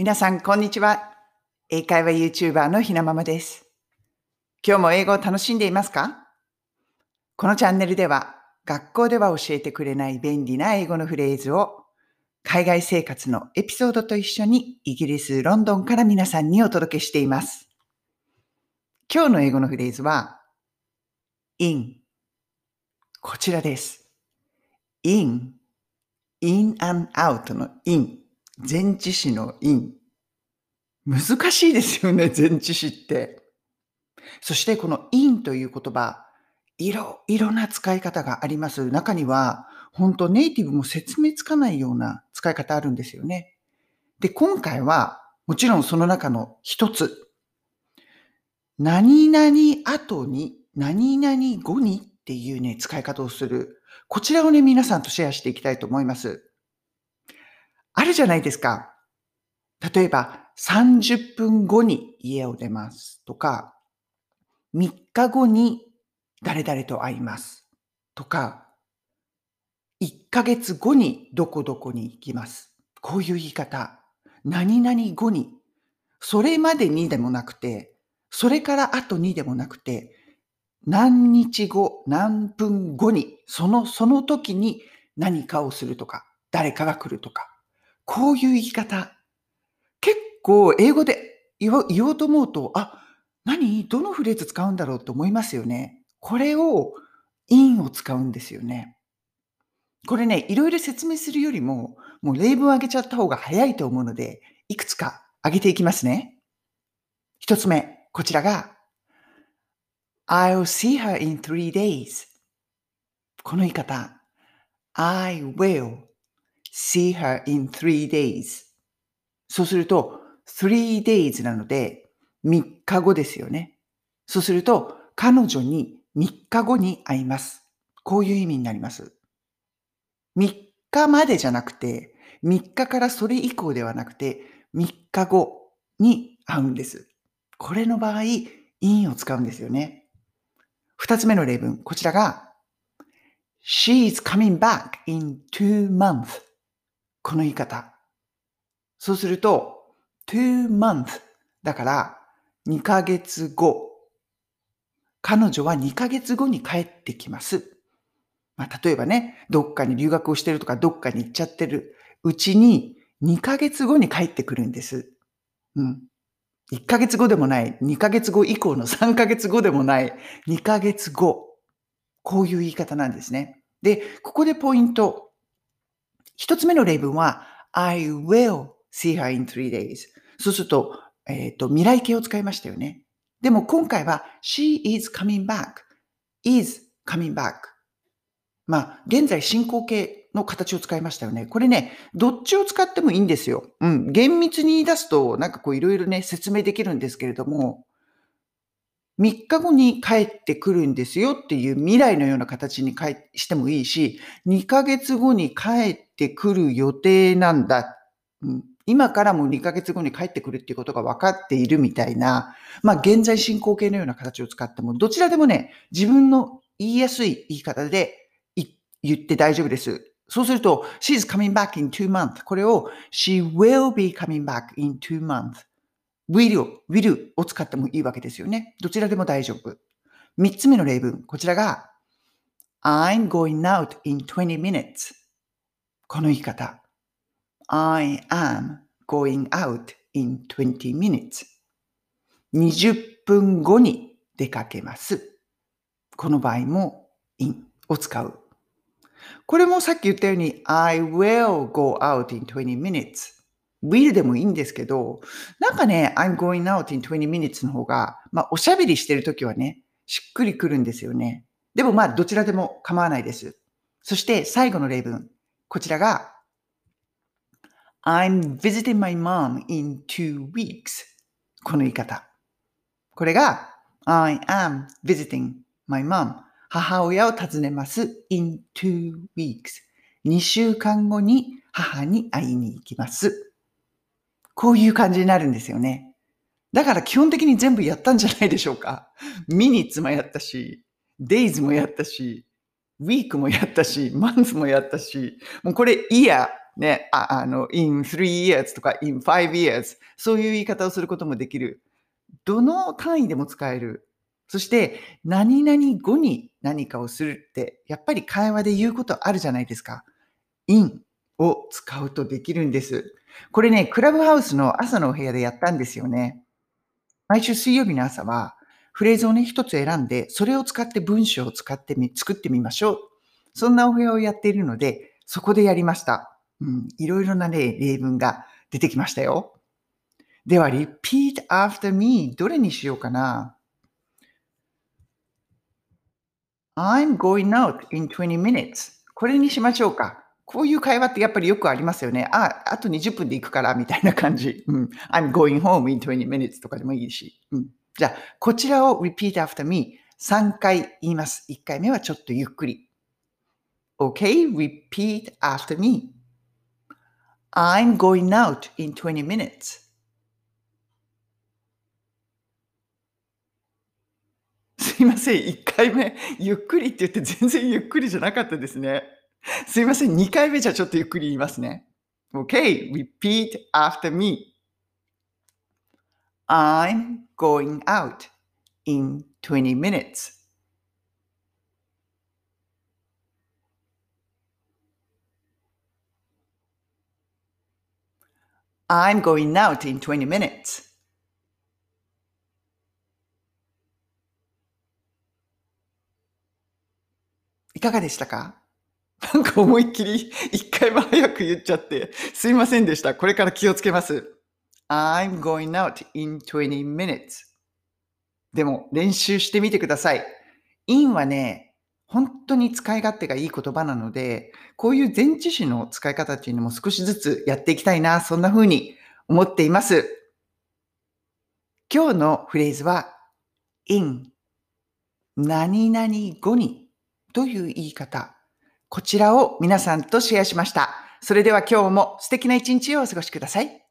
皆さん、こんにちは。英会話 YouTuber のひなままです。今日も英語を楽しんでいますか？このチャンネルでは、学校では教えてくれない便利な英語のフレーズを、海外生活のエピソードと一緒にイギリス・ロンドンから皆さんにお届けしています。今日の英語のフレーズは、in。こちらです。in and out の in。前置詞の in。難しいですよね、前置詞って。そしてこの in という言葉、いろな使い方があります。中には、本当ネイティブも説明つかないような使い方あるんですよね。で、今回は、もちろんその中の一つ、何々後に、何々後にっていうね、使い方をする。こちらをね、皆さんとシェアしていきたいと思います。あるじゃないですか。例えば、30分後に家を出ますとか、3日後に誰々と会いますとか、1ヶ月後にどこどこに行きます。こういう言い方。何々後に。それまでにでもなくて、それから後にでもなくて、何日後、何分後に、その時に何かをするとか、誰かが来るとか。こういう言い方。結構英語で言おうと思うと、どのフレーズ使うんだろうと思いますよね。これを in を使うんですよね。これね、いろいろ説明するよりも、もう例文を挙げちゃった方が早いと思うので、いくつか挙げていきますね。一つ目、こちらが、I'll see her in 3 days。この言い方、I will see her in 3 days。そうすると、3 days なので、3日後ですよね。そうすると、彼女に3日後に会います。こういう意味になります。3日までじゃなくて、3日からそれ以降ではなくて、3日後に会うんです。これの場合、in を使うんですよね。2つ目の例文、こちらが、She's coming back in 2 months。この言い方。そうすると、2 months だから2ヶ月後。彼女は2ヶ月後に帰ってきます。例えばね、どっかに留学をしてるとか、どっかに行っちゃってるうちに、2ヶ月後に帰ってくるんです。1ヶ月後でもない、2ヶ月後以降の3ヶ月後でもない、2ヶ月後。こういう言い方なんですね。で、ここでポイント。一つ目の例文は、I will see her in 3 days。そうすると、未来形を使いましたよね。でも今回は、she is coming back。is coming back。現在進行形の形を使いましたよね。これね、どっちを使ってもいいんですよ。厳密に言い出すと、いろいろね、説明できるんですけれども、3日後に帰ってくるんですよっていう未来のような形にしてもいいし、2ヶ月後に帰ってくる予定なんだ。今からも2ヶ月後に帰ってくるっていうことが分かっているみたいな、現在進行形のような形を使っても、どちらでもね、自分の言いやすい言い方で言って大丈夫です。そうすると、she's coming back in 2 months。これを she will be coming back in 2 months。will を使ってもいいわけですよね。どちらでも大丈夫。3つ目の例文。こちらが I'm going out in 20 minutes。この言い方。I am going out in 20 minutes。20分後に出かけます。この場合も in を使う。これもさっき言ったように I will go out in 20 minutes。will でもいいんですけど、I'm going out in 20 minutes の方が、おしゃべりしてるときはね、しっくりくるんですよね。でもどちらでも構わないです。そして最後の例文。こちらが I'm visiting my mom in 2 weeks。この言い方。これが I am visiting my mom。母親を訪ねます in 2 weeks。2週間後に母に会いに行きます。こういう感じになるんですよね。だから基本的に全部やったんじゃないでしょうか。minutes もやったし、days もやったし、week もやったし、month もやったし、もうこれ year ね、in 3 years とか in 5 years そういう言い方をすることもできる。どの単位でも使える。そして、何々後に何かをするって、やっぱり会話で言うことあるじゃないですか。in を使うとできるんです。これね、クラブハウスの朝のお部屋でやったんですよね。毎週水曜日の朝は、フレーズをね、一つ選んで、それを使って文章を作ってみましょう。そんなお部屋をやっているので、そこでやりました。いろいろなね、例文が出てきましたよ。では、repeat after me どれにしようかな。I'm going out in 20 minutes. これにしましょうか。こういう会話ってやっぱりよくありますよね。あと20分で行くからみたいな感じ。I'm going home in 20 minutes とかでもいいし。じゃあ、こちらを repeat after me 3回言います。1回目はちょっとゆっくり。Okay, repeat after me. I'm going out in 20 minutes. すいません、1回目、ゆっくりって言って全然ゆっくりじゃなかったですね。すいません、2回目じゃちょっとゆっくり言いますね。Okay, repeat after me. I'm going out in 20 minutes. I'm going out in 20 minutes. いかがでしたか？なんか思いっきり1回も早く言っちゃって、すいませんでした。これから気をつけます。I'm going out in 20 minutes. でも練習してみてください。in はね、本当に使い勝手がいい言葉なので、こういう前置詞の使い方っていうのも少しずつやっていきたいな、そんな風に思っています。今日のフレーズは in 何々後にという言い方。こちらを皆さんとシェアしました。それでは今日も素敵な一日をお過ごしください。